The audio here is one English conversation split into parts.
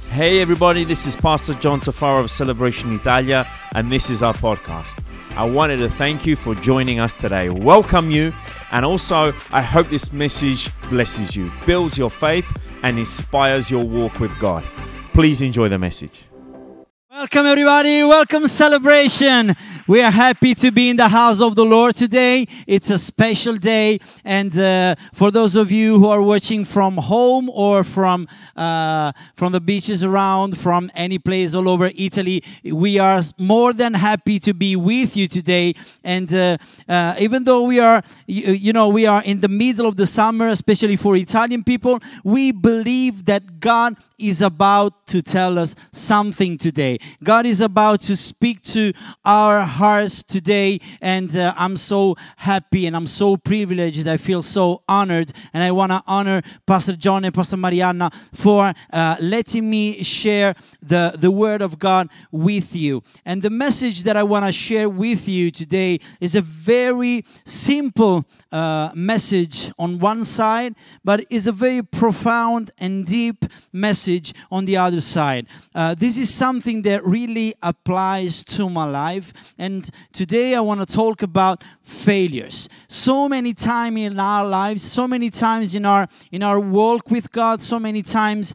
Hey everybody, this is Pastor John Tafaro of Celebration Italia, and this is our podcast. I wanted to thank you for joining us today, welcome you, and also I hope this message blesses you, builds your faith, and inspires your walk with God. Please enjoy the message. Welcome everybody, welcome Celebration. We are happy to be in the house of the Lord today. It's a special day, and for those of you who are watching from home or from the beaches around, from any place all over Italy, we are more than happy to be with you today. And even though we are, we are in the middle of the summer, especially for Italian people, we believe that God is about to tell us something today. God is about to speak to our hearts today, and I'm so happy and I'm so privileged. I feel so honored, and I want to honor Pastor John and Pastor Marianna for letting me share the Word of God with you. And the message that I want to share with you today is a very simple message on one side, but is a very profound and deep message on the other side. This is something that really applies to my life, and today I want to talk about failures. So many times in our lives, so many times in our walk with God, so many times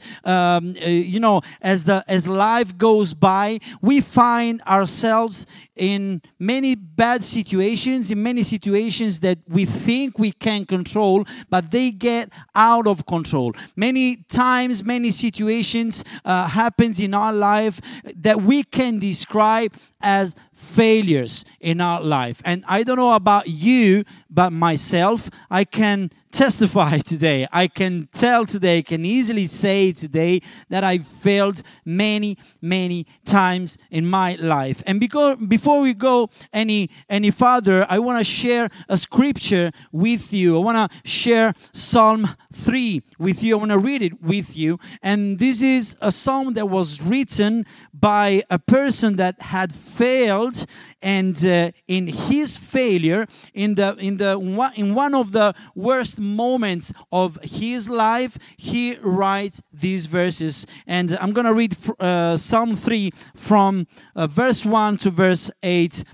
as life goes by, we find ourselves in many bad situations, in many situations that we think we can control, but they get out of control. Many times, many situations happens in our life that we can describe as failures in our life. And I don't know about you, but myself, I can testify today. I can tell today, can easily say today that I failed many, many times in my life. And before we go any further, I want to share a scripture with you. I want to share Psalm 3 with you. I want to read it with you. And this is a psalm that was written by a person that had failed, and in his failure, in one of the worst moments of his life, he writes these verses. And I'm going to read Psalm 3 from verse 1 to verse 8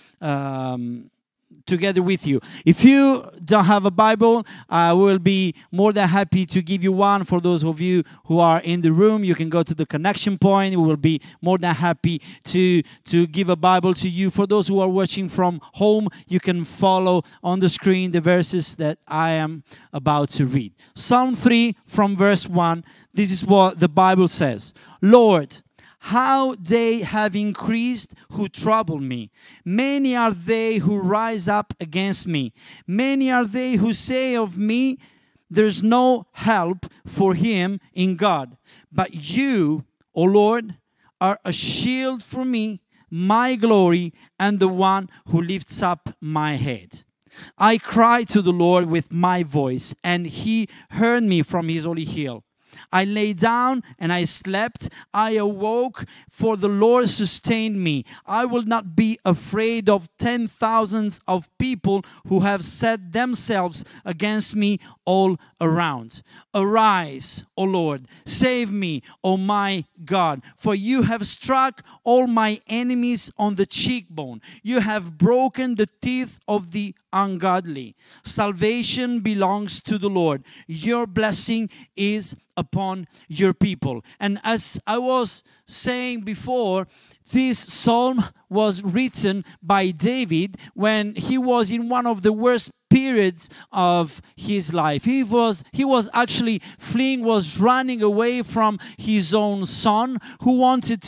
together with you. If you don't have a Bible, I will be more than happy to give you one. For those of you who are in the room, you can go to the connection point. We will be more than happy to give a Bible to you. For those who are watching from home, you can follow on the screen the verses that I am about to read. Psalm 3 from verse 1. This is what the Bible says. Lord, how they have increased who trouble me. Many are they who rise up against me. Many are they who say of me, there's no help for him in God. But you, O Lord, are a shield for me, my glory, and the one who lifts up my head. I cried to the Lord with my voice, and he heard me from his holy hill. I lay down and I slept. I awoke, for the Lord sustained me. I will not be afraid of 10,000s of people who have set themselves against me all around. Arise, O Lord, save me, O my God, for you have struck all my enemies on the cheekbone. You have broken the teeth of the ungodly. Salvation belongs to the Lord. Your blessing is upon your people. And as I was saying before, this psalm was written by David when he was in one of the worst periods of his life. He was actually fleeing, was running away from his own son, who wanted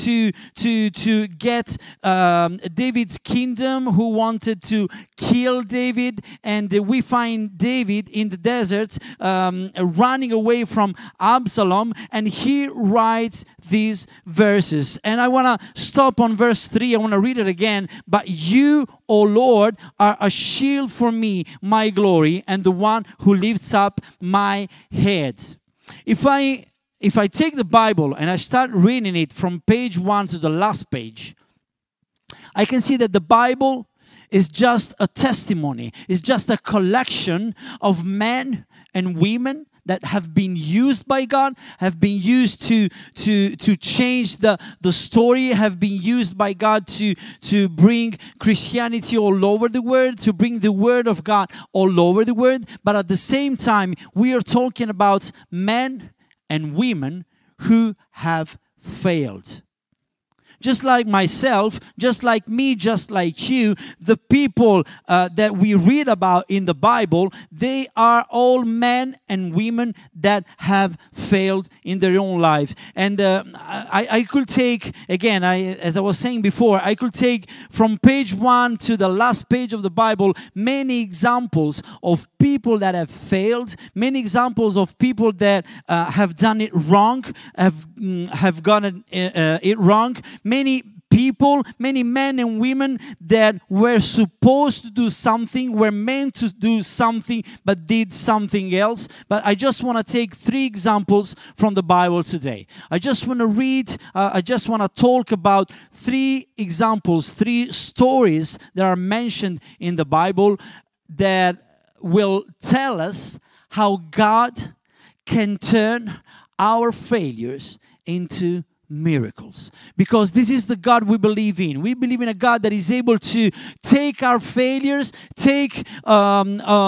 to get David's kingdom, who wanted to kill David. And we find David in the desert running away from Absalom, and he writes these verses. And I want to stop on verse 3. I want to read it again. But you, O Lord, are a shield for me, my glory, and the one who lifts up my head. If I take the Bible and I start reading it from page 1 to the last page, I can see that the Bible is just a testimony. It's just a collection of men and women that have been used by God, have been used to change the story, have been used by God to bring Christianity all over the world, to bring the Word of God all over the world. But at the same time, we are talking about men and women who have failed. Just like myself, just like me, just like you, the people that we read about in the Bible, they are all men and women that have failed in their own life. And I could take, again, as I was saying before, I could take from page 1 to the last page of the Bible many examples of people that have failed, many examples of people that have done it wrong, have gotten it wrong. Many people, many men and women that were supposed to do something, were meant to do something, but did something else. But I just want to take 3 examples from the Bible today. I just want to read, I just want to talk about 3 examples, 3 stories that are mentioned in the Bible that will tell us how God can turn our failures into miracles. Because this is the God we believe in. We believe in a God that is able to take our failures, take all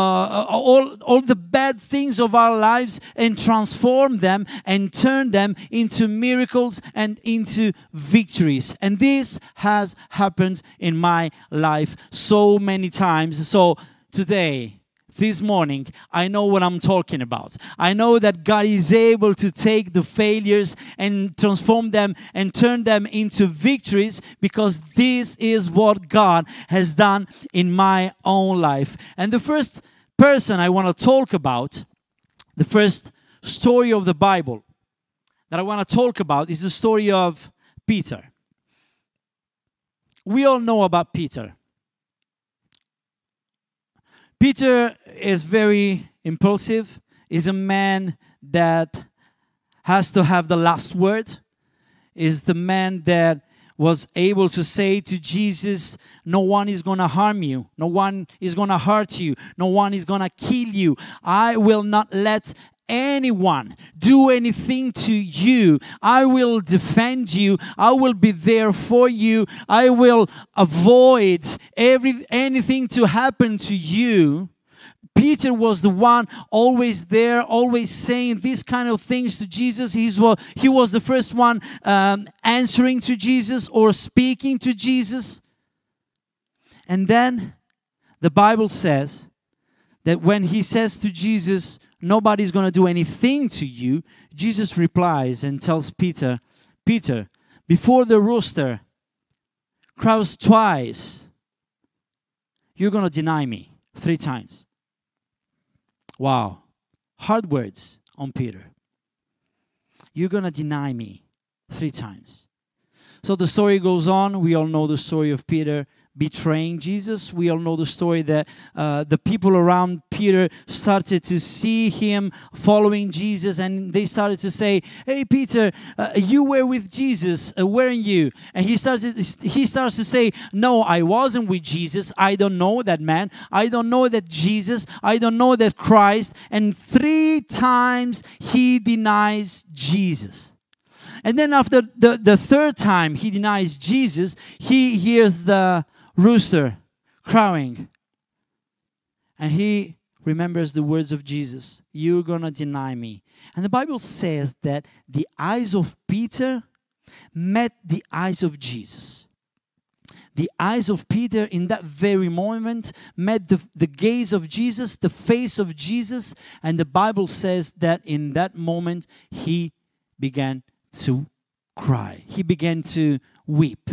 the bad things of our lives and transform them and turn them into miracles and into victories. And this has happened in my life so many times. So today, this morning, I know what I'm talking about. I know that God is able to take the failures and transform them and turn them into victories, because this is what God has done in my own life. And the first person I want to talk about, the first story of the Bible that I want to talk about, is the story of Peter. We all know about Peter. Peter is very impulsive. He's a man that has to have the last word. Is the man that was able to say to Jesus, no one is going to harm you. No one is going to hurt you. No one is going to kill you. I will not let anyone do anything to you. I will defend you. I will be there for you. I will avoid anything to happen to you. Peter was the one always there, always saying these kind of things to Jesus. He was the first one answering to Jesus or speaking to Jesus. And then the Bible says that when he says to Jesus, nobody's going to do anything to you, Jesus replies and tells Peter, Peter, before the rooster crows twice, you're going to deny me 3 times. Wow. Hard words on Peter. You're going to deny me 3 times. So the story goes on. We all know the story of Peter betraying Jesus. We all know the story that the people around Peter started to see him following Jesus, and they started to say, hey Peter, you were with Jesus, weren't you? And he starts to say, no, I wasn't with Jesus. I don't know that man. I don't know that Jesus. I don't know that Christ. And 3 times he denies Jesus. And then after the 3rd time he denies Jesus, he hears the rooster crowing. And he remembers the words of Jesus, you're going to deny me. And the Bible says that the eyes of Peter met the eyes of Jesus. The eyes of Peter in that very moment met the gaze of Jesus, the face of Jesus. And the Bible says that in that moment he began to cry. He began to weep.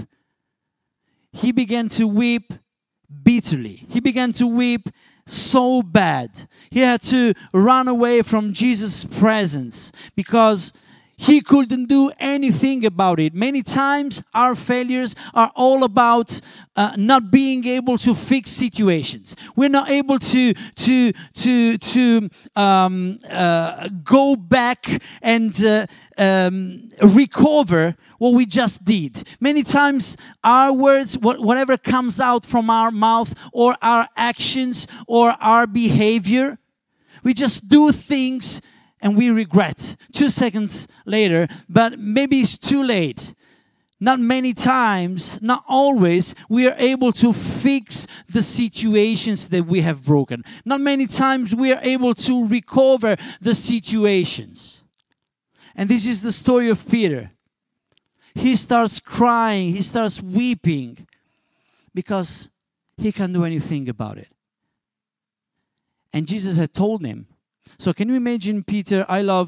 He began to weep bitterly. He began to weep so bad. He had to run away from Jesus' presence because he couldn't do anything about it. Many times our failures are all about not being able to fix situations. We're not able to go back and recover what we just did. Many times our words, whatever comes out from our mouth or our actions or our behavior, we just do things and we regret 2 seconds later, but maybe it's too late. Not many times, not always, we are able to fix the situations that we have broken. Not many times we are able to recover the situations. And this is the story of Peter. He starts crying, he starts weeping because he can't do anything about it. And Jesus had told him. So can you imagine Peter?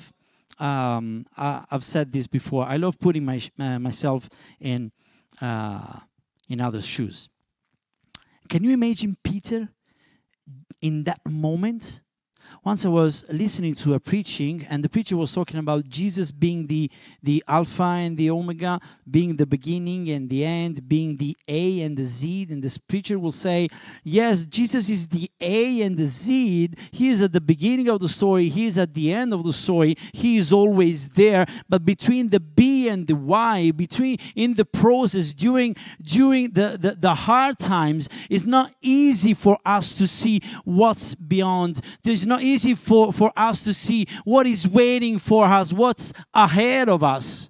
I've said this before. I love putting myself in others' shoes. Can you imagine Peter in that moment? Once I was listening to a preaching, and the preacher was talking about Jesus being the Alpha and the Omega, being the beginning and the end, being the A and the Z. And this preacher will say, yes, Jesus is the A and the Z. He is at the beginning of the story. He is at the end of the story. He is always there. But between the B and the Y, in the process, during the hard times, it's not easy for us to see what's beyond. There's not easy for us to see what is waiting for us, what's ahead of us.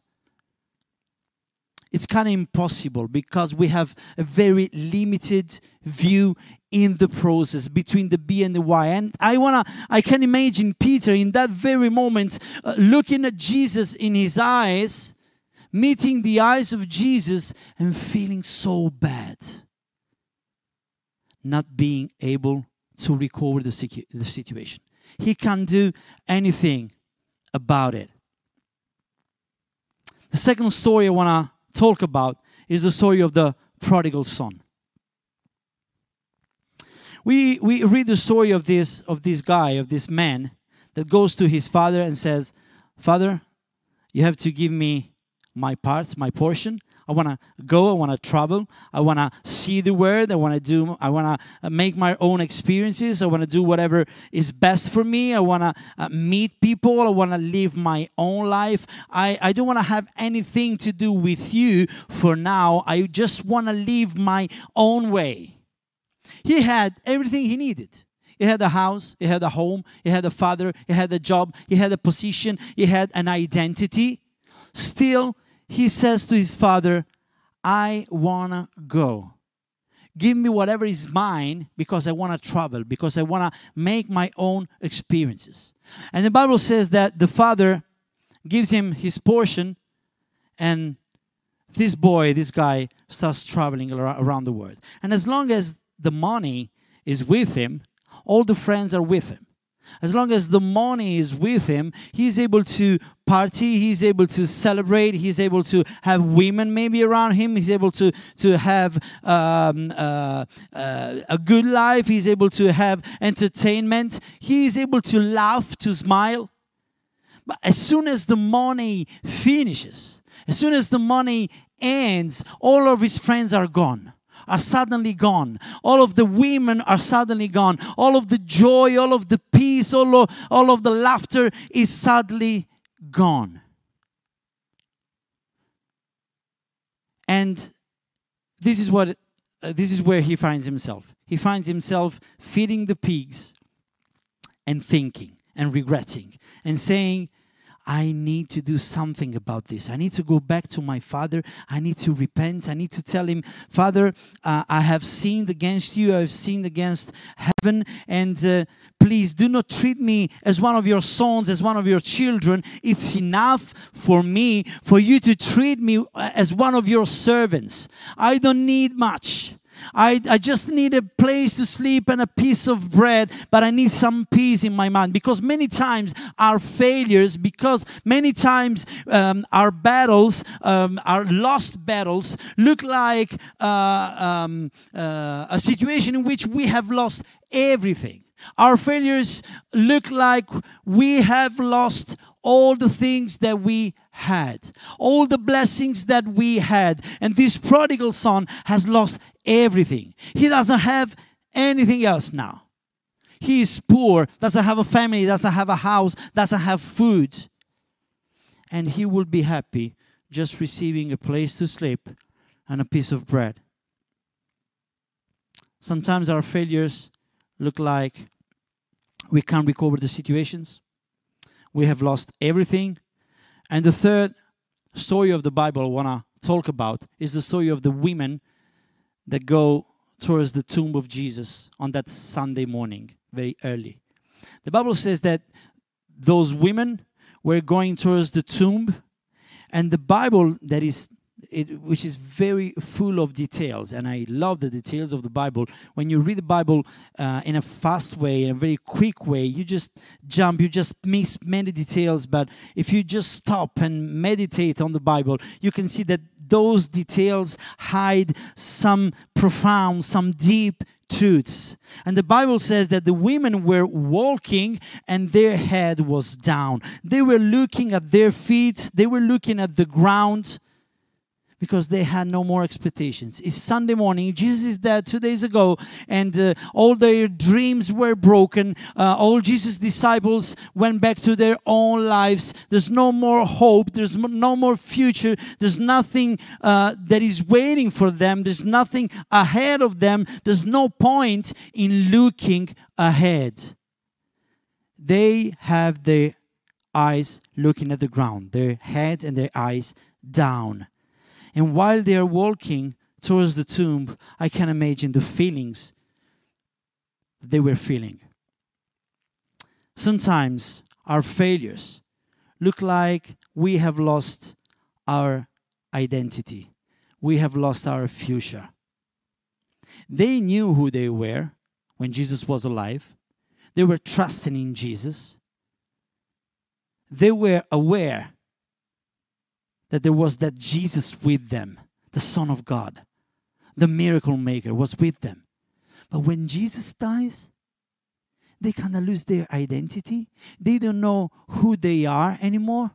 It's kind of impossible because we have a very limited view in the process between the B and the Y. And I can imagine Peter in that very moment looking at Jesus in his eyes, meeting the eyes of Jesus and feeling so bad, not being able to recover the situation. He can't do anything about it. The second story I want to talk about is the story of the prodigal son. We read the story of this man that goes to his father and says, "Father, you have to give me my part, my portion. I want to go, I want to travel, I want to see the word, I want to make my own experiences, I want to do whatever is best for me, I want to meet people, I want to live my own life. I don't want to have anything to do with you for now. I just want to live my own way." He had everything he needed. He had a house, he had a home, he had a father, he had a job, he had a position, he had an identity. Still, he says to his father, "I want to go. Give me whatever is mine because I want to travel, because I want to make my own experiences." And the Bible says that the father gives him his portion, and this guy starts traveling around the world. And as long as the money is with him, all the friends are with him. As long as the money is with him, he's able to party, he's able to celebrate, he's able to have women maybe around him, he's able to have a good life, he's able to have entertainment, he is able to laugh, to smile. But as soon as the money finishes, as soon as the money ends, all of his friends are gone. Are suddenly gone. All of the women are suddenly gone. All of the joy, all of the peace, all of the laughter is suddenly gone. And this is where he finds himself. He finds himself feeding the pigs and thinking and regretting and saying, "I need to do something about this. I need to go back to my father. I need to repent. I need to tell him, Father, I have sinned against you. I have sinned against heaven. And please do not treat me as one of your sons, as one of your children. It's enough for me for you to treat me as one of your servants. I don't need much. I just need a place to sleep and a piece of bread, but I need some peace in my mind." Because many times our failures, because many times our battles, our lost battles, look like a situation in which we have lost everything. Our failures look like we have lost all the things that we had, all the blessings that we had. And this prodigal son has lost everything. He doesn't have anything else now. He is poor, doesn't have a family, doesn't have a house, doesn't have food. And he will be happy just receiving a place to sleep and a piece of bread. Sometimes our failures look like we can't recover the situations. we have lost everything. And the third story of the Bible I want to talk about is the story of the women that go towards the tomb of Jesus on that Sunday morning, very early. The Bible says that those women were going towards the tomb, and the Bible which is very full of details, and I love the details of the Bible. When you read the Bible in a fast way, in a very quick way, you just jump, you just miss many details. But if you just stop and meditate on the Bible, you can see that those details hide some profound, some deep truths. And the Bible says that the women were walking and their head was down. They were looking at their feet, they were looking at the ground, because they had no more expectations. It's Sunday morning. Jesus is dead 2 days ago, and all their dreams were broken. All Jesus' disciples went back to their own lives. There's no more hope. There's no more future. There's nothing that is waiting for them. There's nothing ahead of them. There's no point in looking ahead. They have their eyes looking at the ground, their head and their eyes down. And while they are walking towards the tomb, I can imagine the feelings they were feeling. Sometimes our failures look like we have lost our identity. We have lost our future. They knew who they were when Jesus was alive. They were trusting in Jesus. They were aware that there was that Jesus with them, the Son of God, the miracle maker was with them. But when Jesus dies, they kind of lose their identity. They don't know who they are anymore.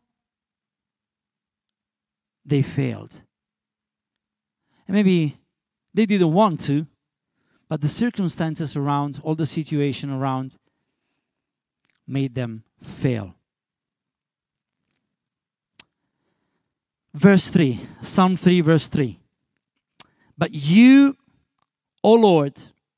They failed. And maybe they didn't want to, but the circumstances around, all the situation around, made them fail. Verse 3, Psalm 3, verse 3. But you, O Lord,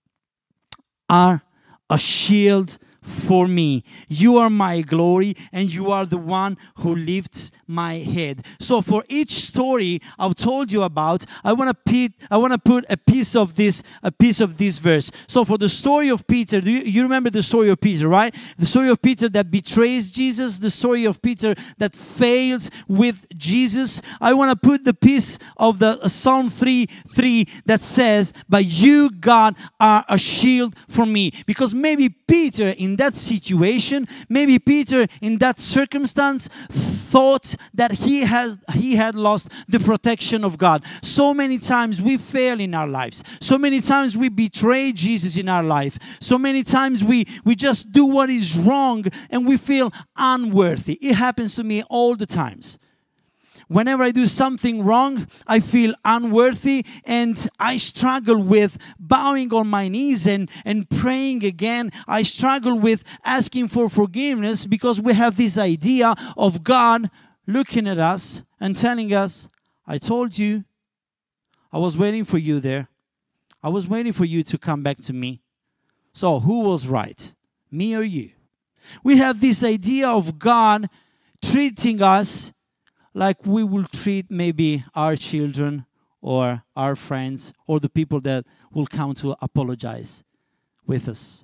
are a shield for me. You are my glory, and you are the one who lifts my head. So for each story I've told you about, I want to put a piece of this verse. So for the story of Peter, you remember the story of Peter, right? The story of Peter that betrays Jesus, the story of Peter that fails with Jesus. I want to put the piece of the Psalm 3:3 that says, "But you, God, are a shield for me." Because maybe Peter in that situation, maybe Peter in that circumstance thought that he had lost the protection of God. So many times we fail in our lives. So many times we betray Jesus in our life. So many times we just do what is wrong and we feel unworthy. It happens to me all the times. Whenever I do something wrong, I feel unworthy and I struggle with bowing on my knees and praying again. I struggle with asking for forgiveness because we have this idea of God looking at us and telling us, "I told you, I was waiting for you there. I was waiting for you to come back to me. So who was right, me or you?" We have this idea of God treating us like we will treat maybe our children or our friends or the people that will come to apologize with us.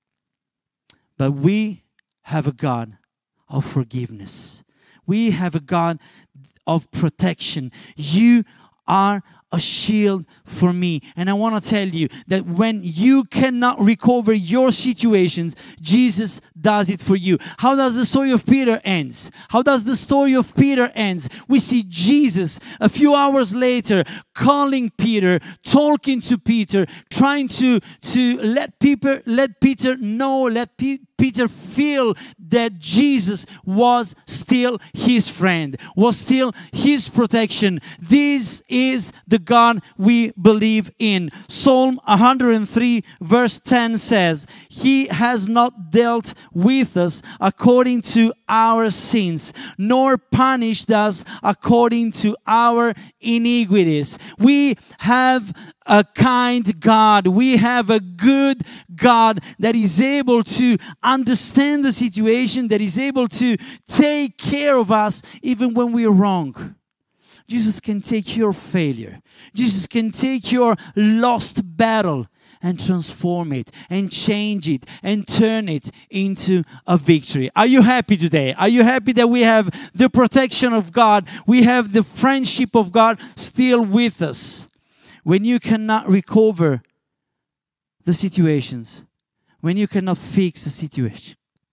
But we have a God of forgiveness. We have a God of protection. You are a shield for me. And I want to tell you that when you cannot recover your situations, Jesus does it for you. How does the story of Peter ends? How does the story of Peter ends? We see Jesus a few hours later calling Peter, talking to Peter, trying to let Peter know, let Peter feel that Jesus was still his friend, was still his protection. This is the the God we believe in. Psalm 103 verse 10 says, He has not dealt with us according to our sins, nor punished us according to our iniquities. We have a kind God. We have a good God that is able to understand the situation, that is able to take care of us even when we're wrong. Jesus can take your failure. Jesus can take your lost battle and transform it and change it and turn it into a victory. Are you happy today? Are you happy that we have the protection of God? We have the friendship of God still with us. When you cannot recover the situations, when you cannot fix the situation,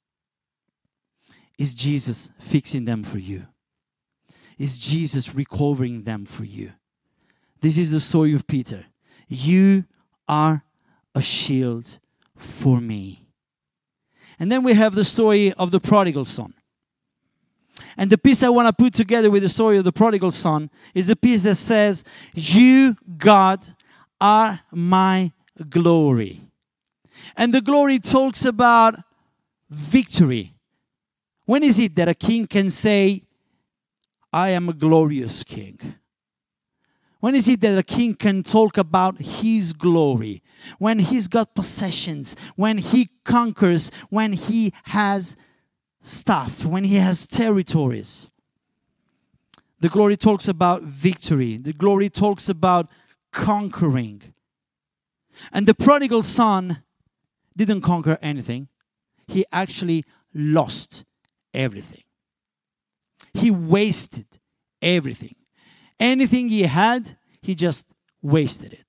is Jesus fixing them for you? Is Jesus recovering them for you? This is the story of Peter. You are a shield for me. And then we have the story of the prodigal son. And the piece I want to put together with the story of the prodigal son is the piece that says, You, God, are my glory. And the glory talks about victory. When is it that a king can say, I am a glorious king? When is it that a king can talk about his glory? When he's got possessions, when he conquers, when he has stuff, when he has territories. The glory talks about victory. The glory talks about conquering. And the prodigal son didn't conquer anything. He actually lost everything. He wasted everything. Anything he had, he just wasted it.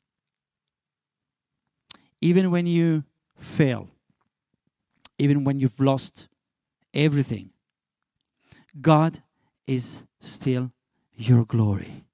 Even when you fail, even when you've lost everything, God is still your glory.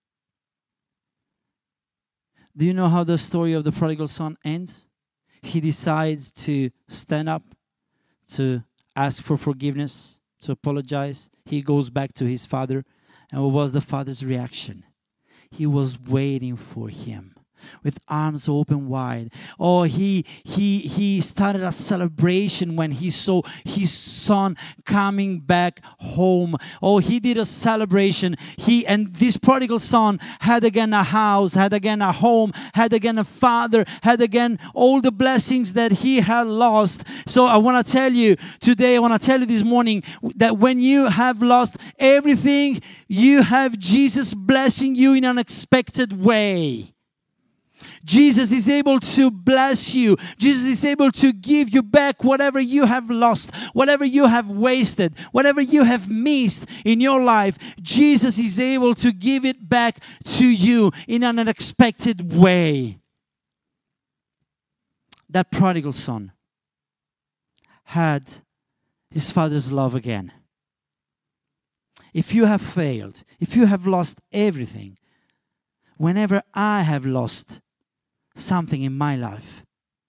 Do you know how the story of the prodigal son ends? He decides to stand up, to ask for forgiveness, to apologize. He goes back to his father. And what was the father's reaction? He was waiting for him with arms open wide. Oh, he started a celebration when he saw his son coming back home. Oh, he did a celebration. And this prodigal son had again a house, had again a home, had again a father, had again all the blessings that he had lost. So I want to tell you today, I want to tell you this morning that when you have lost everything, you have Jesus blessing you in an unexpected way. Jesus is able to bless you. Jesus is able to give you back whatever you have lost, whatever you have wasted, whatever you have missed in your life. Jesus is able to give it back to you in an unexpected way. That prodigal son had his father's love again. If you have failed, if you have lost everything, whenever I have lost something in my life,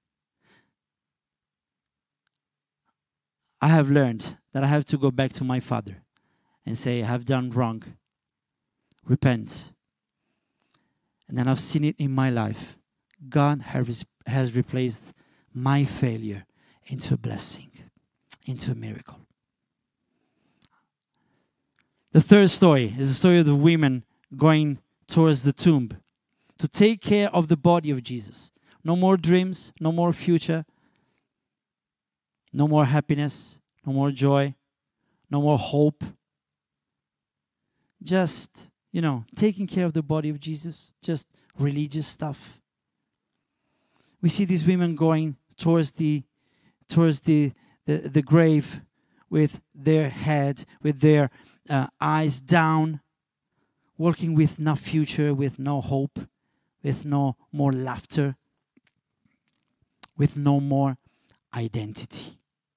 I have learned that I have to go back to my father and say, I have done wrong. Repent. And then I've seen it in my life. God has replaced my failure into a blessing, into a miracle. The third story is the story of the women going towards the tomb to take care of the body of Jesus. No more dreams, no more future, no more happiness, no more joy, no more hope. Just, taking care of the body of Jesus, just religious stuff. We see these women going towards the grave with their head, with their eyes down, walking with no future, with no hope, with no more laughter, with no more identity.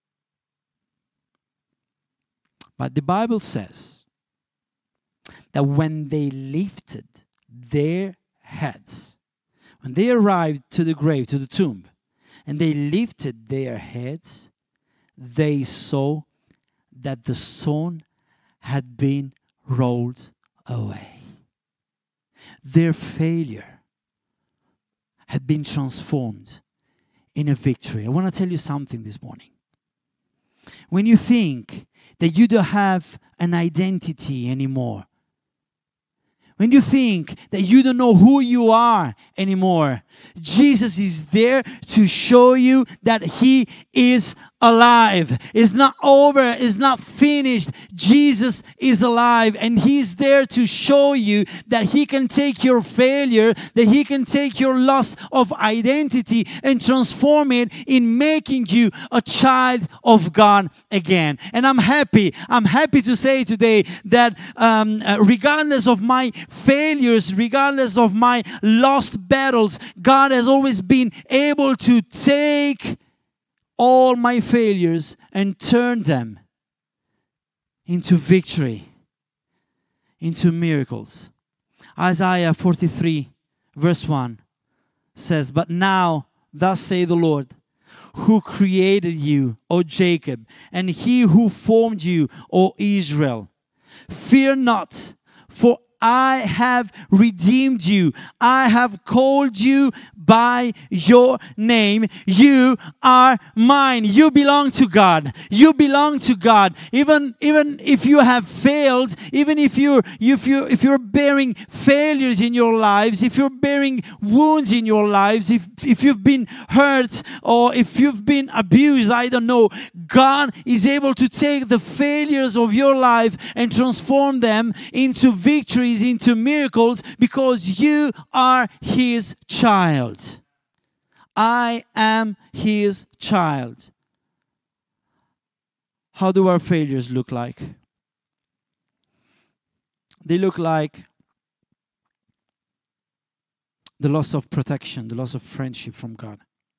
But the Bible says that when they lifted their heads, when they arrived to the grave, to the tomb, and they lifted their heads, they saw that the stone had been rolled away. their failure had been transformed in a victory. I want to tell you something this morning. When you think that you don't have an identity anymore, when you think that you don't know who you are anymore, Jesus is there to show you that He is alive. It's not over. It's not finished. Jesus is alive, and He's there to show you that He can take your failure, that He can take your loss of identity and transform it in making you a child of God again. And I'm happy to say today that regardless of my failures, regardless of my lost battles, God has always been able to take all my failures and turn them into victory, into miracles. Isaiah 43 verse 1 says, "But now, thus say the Lord, who created you, O Jacob, and He who formed you, O Israel. Fear not, for I have redeemed you. I have called you by your name. You are mine." You belong to God. You belong to God. Even if you have failed, even if you're bearing failures in your lives, if you're bearing wounds in your lives, if you've been hurt or if you've been abused, I don't know, God is able to take the failures of your life and transform them into victories, into miracles, because you are His child. I am His child. How do our failures look like? They look like the loss of protection, the loss of friendship from God.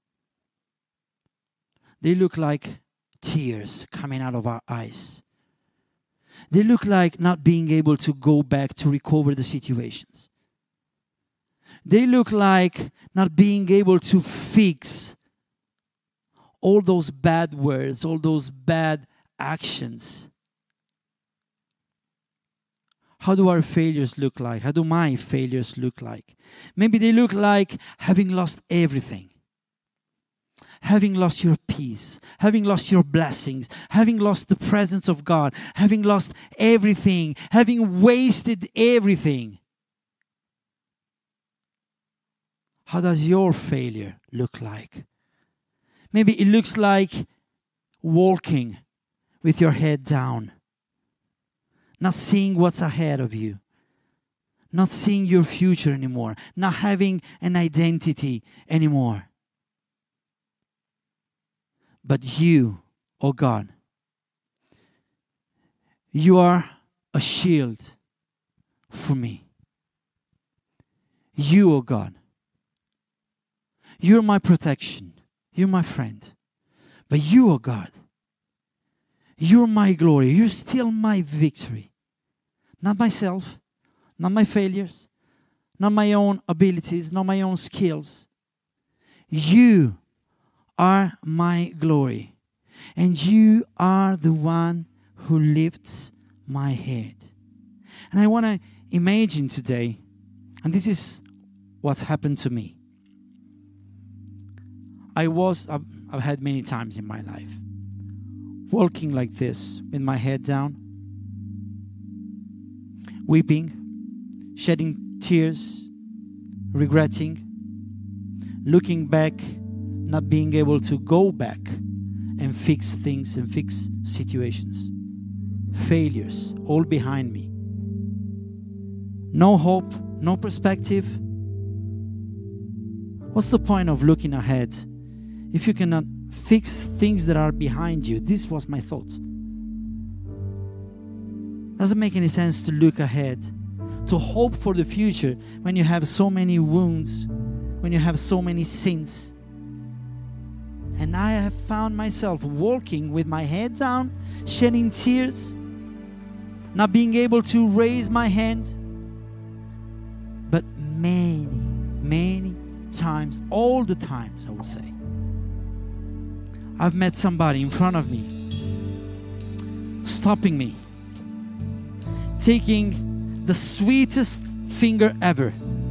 They look like tears coming out of our eyes. They look like not being able to go back to recover the situations. They look like not being able to fix all those bad words, all those bad actions. How do our failures look like? How do my failures look like? Maybe they look like having lost everything. Having lost your peace, having lost your blessings, having lost the presence of God, having lost everything, having wasted everything. How does your failure look like? Maybe it looks like walking with your head down, not seeing what's ahead of you, not seeing your future anymore, not having an identity anymore. But you, oh God, you are a shield for me. You, oh God, you're my protection. You're my friend. But you, oh God, you're my glory. You're still my victory. Not myself, not my failures, not my own abilities, not my own skills. You are my glory, and you are the one who lifts my head. And I want to imagine today, and this is what's happened to me. I've had many times in my life walking like this with my head down, weeping, shedding tears, regretting, looking back, not being able to go back and fix things and fix situations. Failures all behind me. No hope, no perspective. What's the point of looking ahead if you cannot fix things that are behind you? This was my thoughts. Doesn't make any sense to look ahead, to hope for the future when you have so many wounds, when you have so many sins. And I have found myself walking with my head down, shedding tears, not being able to raise my hand. But many, many times, all the times, I would say, I've met somebody in front of me, stopping me, taking the sweetest finger ever,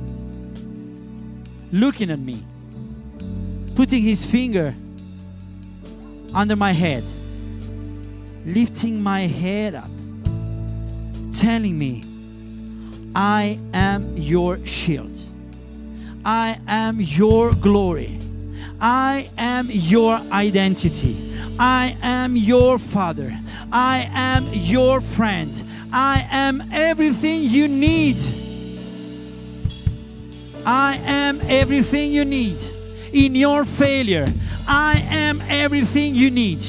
looking at me, putting his finger under my head, lifting my head up, telling me, I am your shield. I am your glory. I am your identity. I am your father. I am your friend. I am everything you need. I am everything you need. In your failure, I am everything you need.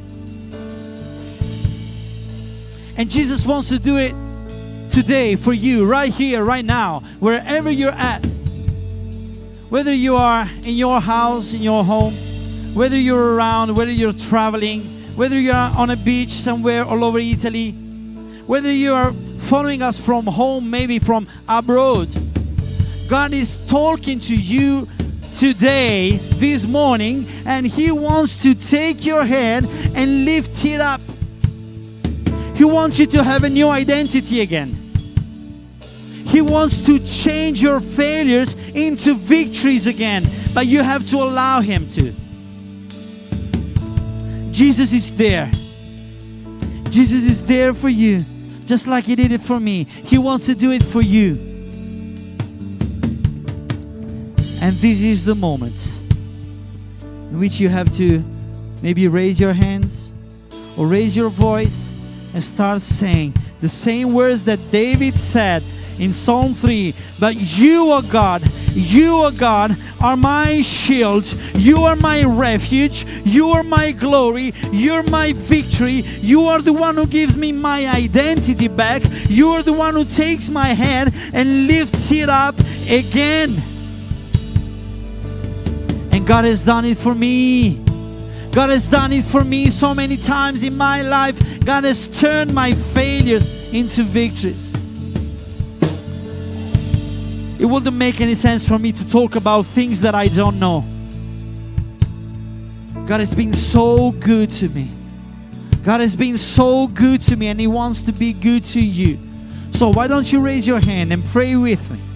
And Jesus wants to do it today for you, right here, right now, wherever you're at. Whether you are in your house, in your home, whether you're around, whether you're traveling, whether you are on a beach somewhere all over Italy, whether you are following us from home, maybe from abroad, God is talking to you today, this morning, and He wants to take your hand and lift it up. He wants you to have a new identity again. He wants to change your failures into victories again, but you have to allow Him to. Jesus is there. Jesus is there for you, just like He did it for me. He wants to do it for you. And this is the moment in which you have to maybe raise your hands or raise your voice and start saying the same words that David said in Psalm 3. But you, O God, are my shield. You are my refuge. You are my glory. You're my victory. You are the one who gives me my identity back. You are the one who takes my hand and lifts it up again. And God has done it for me. God has done it for me so many times in my life. God has turned my failures into victories. It wouldn't make any sense for me to talk about things that I don't know. God has been so good to me. God has been so good to me, and He wants to be good to you. So why don't you raise your hand and pray with me?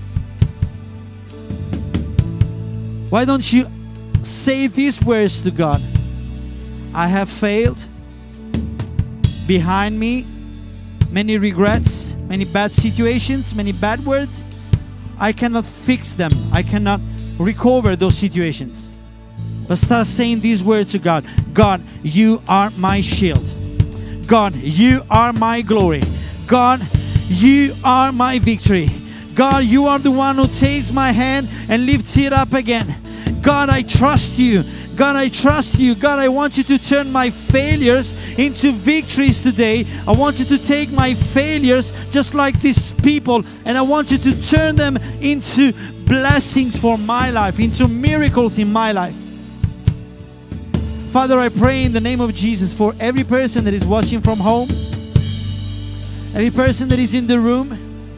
Why don't you say these words to God? I have failed. Behind me, many regrets, many bad situations, many bad words. I cannot fix them. I cannot recover those situations. But start saying these words to God. God, you are my shield. God, you are my glory. God, you are my victory. God, you are the one who takes my hand and lifts it up again. God, I trust you. God, I trust you. God, I want you to turn my failures into victories today. I want you to take my failures just like these people, and I want you to turn them into blessings for my life, into miracles in my life. Father, I pray in the name of Jesus for every person that is watching from home, every person that is in the room.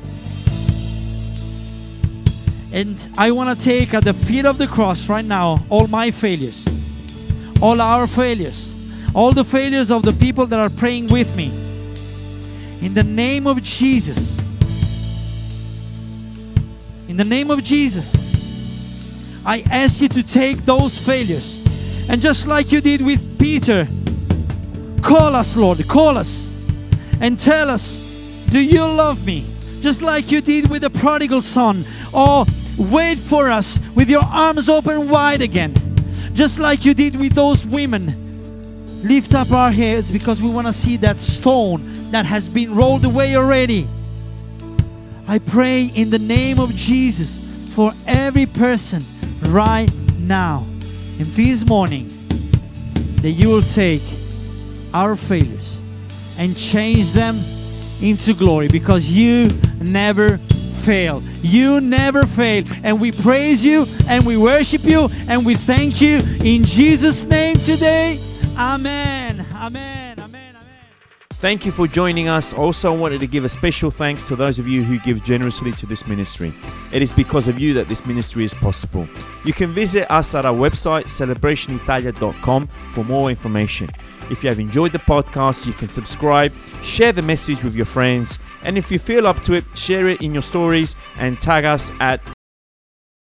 And I want to take at the feet of the cross right now all my failures, all our failures, all the failures of the people that are praying with me. In the name of Jesus. In the name of Jesus, I ask you to take those failures. And just like you did with Peter, call us, Lord, call us and tell us, do you love me? Just like you did with the prodigal son. Or wait for us with your arms open wide again. Just like you did with those women. Lift up our heads because we want to see that stone that has been rolled away already. I pray in the name of Jesus for every person right now and this morning that you will take our failures and change them into glory, because you never fail. You never fail. And we praise you and we worship you and we thank you in Jesus' name today. Amen. Amen. Amen. Amen. Thank you for joining us. Also, I wanted to give a special thanks to those of you who give generously to this ministry. It is because of you that this ministry is possible. You can visit us at our website, celebrationitalia.com, for more information. If you have enjoyed the podcast, you can subscribe, share the message with your friends, and if you feel up to it, share it in your stories and tag us at